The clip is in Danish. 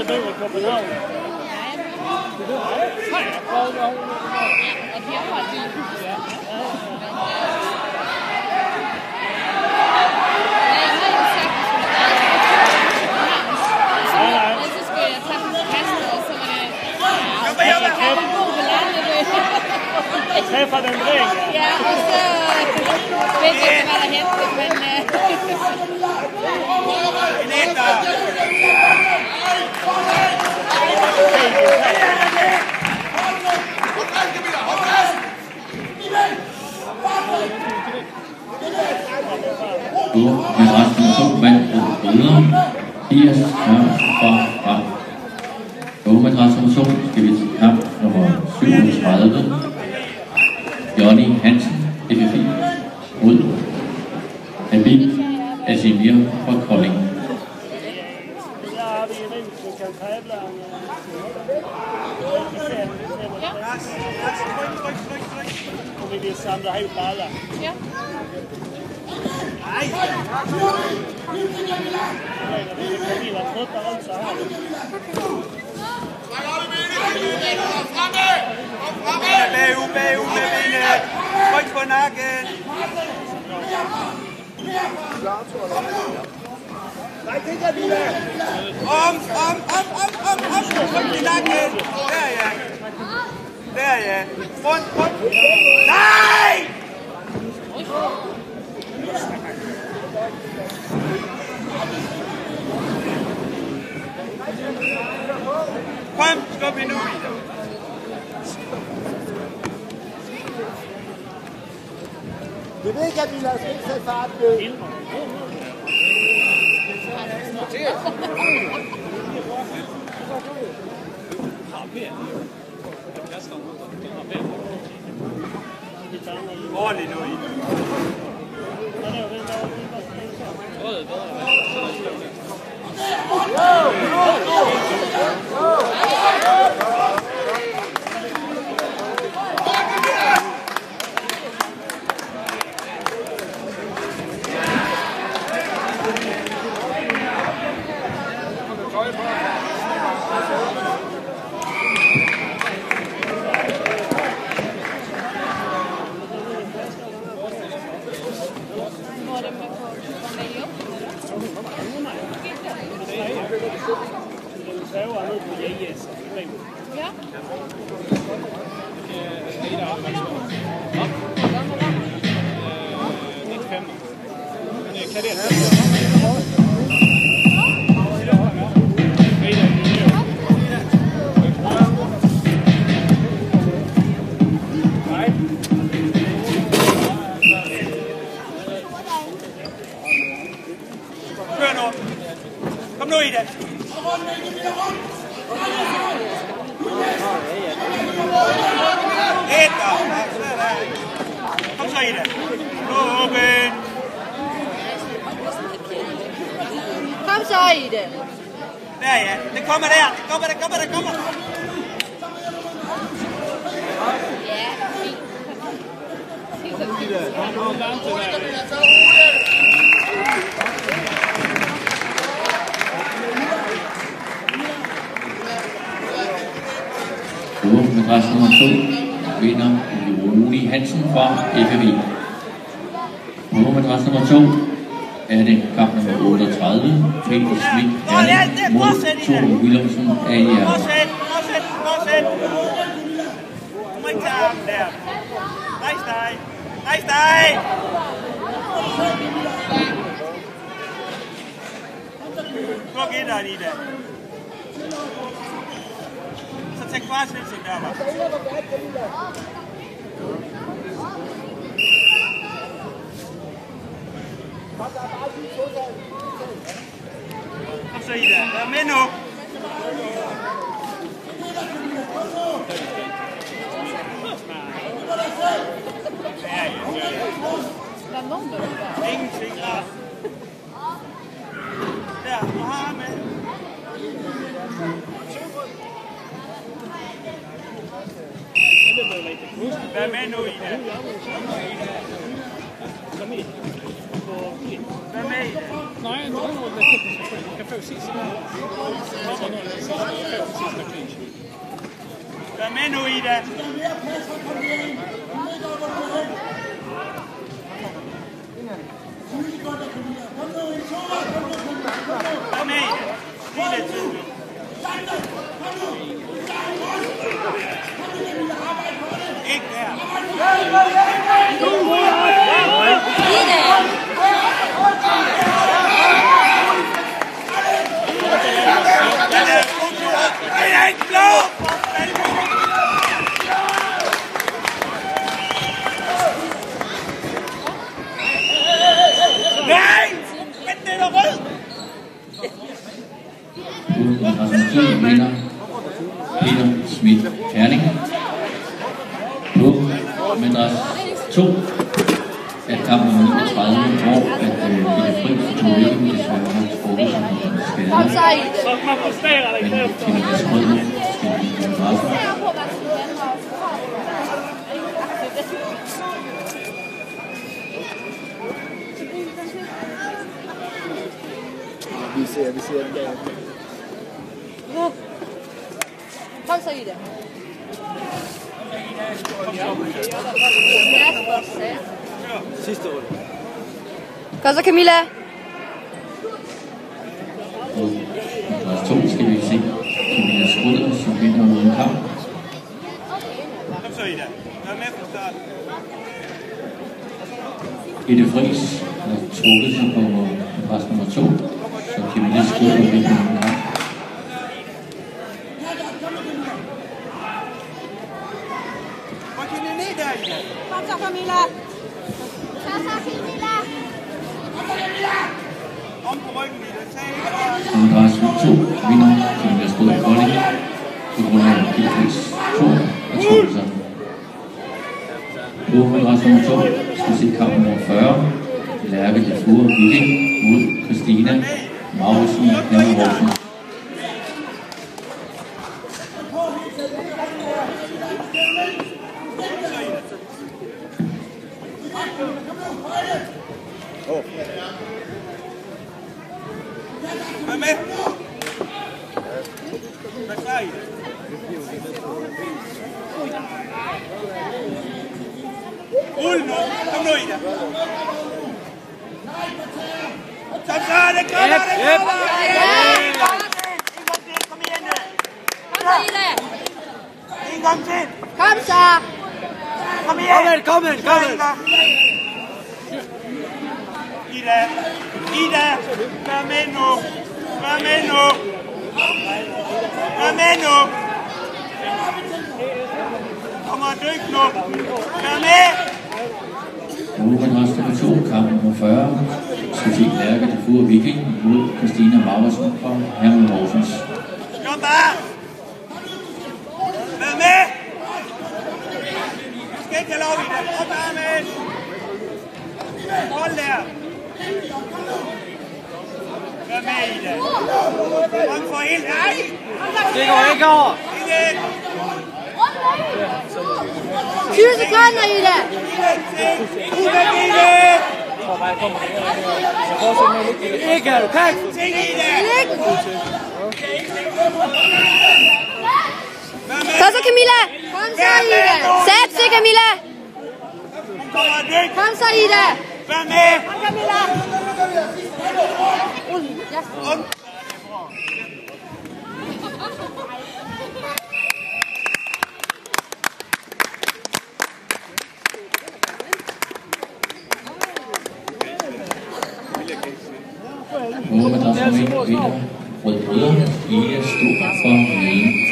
der bor i København. Nej, og de har et lille hus. Jeg træffer den ring. Ja, og så ved jeg ikke, hvad der henter, men... Madras nummer 2 vandt Rødder 80 fra Madras nummer 2 skal vi til kamp nummer 37. Johnny Hansen, FFI, mod Habib Asimir fra Kolding. Vi vil samle helt baller. Ja. Nej. Vi var trødt der rundt, så har vi. Bagud med benet. Tryk på nakken. Nej, det kan vi da. Om. Tryk i nakken. Der ja. Der ja. Rundt. Nej! Kom, skub hende ud i det. Det ved ikke, at vi lader os ikke sætte fart med. Ordentligt nu i. Ja. Kør nu. Kom nu i det. Kom så i det. Åben. Kom så i det. Der ja. Det kommer der. Det kommer. Ja, fint. Madras nummer 2 vinder Johnny Hansen fra FFI. På madras nummer 2 er det kamp nummer 38, Peter Schmidt Herning mod Tore Wilhelmsen AIR. Fortsæt. Du må ikke tage armen der. Rejs dig. Gå gætteren i det. Så tag kvartsvindsen der, var. Kom så i det. Vær med nu. Der er nogen, der er Ingenting der. Der, du har med. Vær med nu, Ida. Vær med i det. Nej, no, café sist. Vær med nu, Ida. Vær med, Ida. Lige lidt tid. Ikke der. Jeg er ikke blå! Nej! Men den er rød! Rasmus vinder Peter Schmidt Herning. På madras 2 at kamp nummer 39, hvor at Peter Friis tog ikke desværre har trukket sig med skader. Men Tina Skrødder skal i madrassen. Vi ser den der. Kom så, Ida. Sidste runde. Kom så, Camilla. Og madras 2 skal vi se Tina Skrødder, som vinder uden kamp. Kom så, Ida. Vær med fra starten. Peter Friis har trukket sig på madras nummer 2, så Tina Skrødder vinder uden kamp. Hvor kan I ned der, Ida? Kom så, Camilla. Kom så, Camilla. Om på ryggen, Ida. Tag ikke. Madras 2 vinder Tina Skrødder Kolding på grund af Peter Friis 2 og trukket sig. På madras nummer 2 skal se kamp nummer 40. Lærke Lefure Viking mod Christina Mauritzen Hammerhausen. Vær med. Vær klar, Ida. Rul nu. Kom nu, Ida. Så er det kommer, det kommer! Kom igen nu. Kom så, Ida. En gang til. Kom så. Kom igen. Kom igen. Ida. Ida. Vær med nu. Vær med nu. Vær med nu. Kommer du ikke nu? Vær med. Madras nummer 2, kamp nummer 40. Skal se Lærke Lefure Viking mod Christina Mauritzen fra Hammerhausens. Kom bare. Vær med. Du skal ikke have lov, Ida. Kom bare med. Hold der. Vær med, Ida. Kom for helt. Nej. Det går ikke over. Igen. 20 sekunder, Ida. Ikke, du kan ikke. Kom så, Camilla. Kom så, Ida. Sæt til, Camilla. Kom så, Ida. Vær med. Kom, Camilla. Madras nummer 1 vinder Rød Brødre. Ida Stor fra Møden.